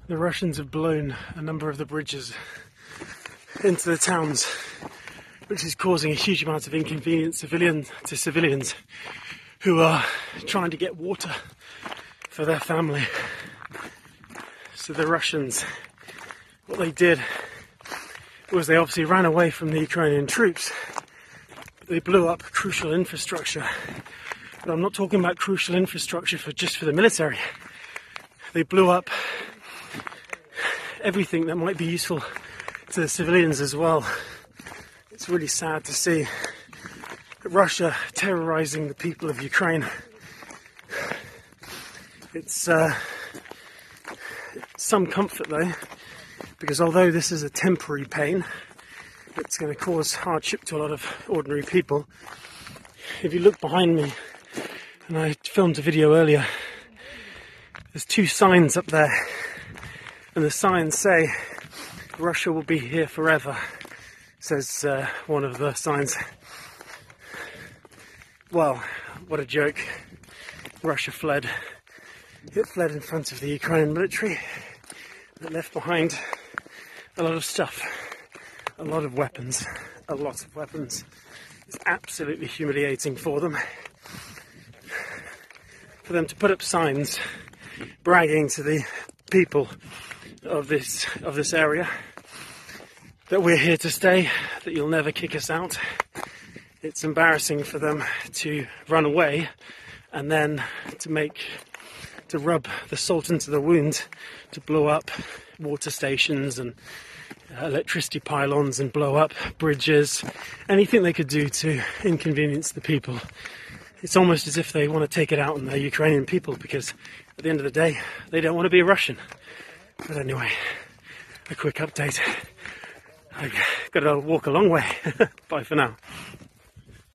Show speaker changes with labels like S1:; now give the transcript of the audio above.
S1: The Russians have blown a number of the bridges into the towns, which is causing a huge amount of inconvenience to civilians who are trying to get water for their family. So the Russians, what they did was they obviously ran away from the Ukrainian troops, but they blew up crucial infrastructure. But I'm not talking about crucial infrastructure just for the military. They blew up everything that might be useful to the civilians as well. It's really sad to see Russia terrorizing the people of Ukraine. It's some comfort though, because although this is a temporary pain, it's going to cause hardship to a lot of ordinary people. If you look behind me, and I filmed a video earlier, there's two signs up there, and the signs say Russia will be here forever, says one of the signs. Well, what a joke. Russia fled. It fled in front of the Ukrainian military. It left behind a lot of stuff, a lot of weapons, a lot of weapons. It's absolutely humiliating for them. For them to put up signs bragging to the people of this area that we're here to stay, that you'll never kick us out. It's embarrassing for them to run away and then to rub the salt into the wound, to blow up water stations and electricity pylons and blow up bridges, anything they could do to inconvenience the people. It's almost as if they want to take it out on the Ukrainian people, because at the end of the day, they don't want to be a Russian. But anyway, a quick update. I've got to walk a long way. Bye for now.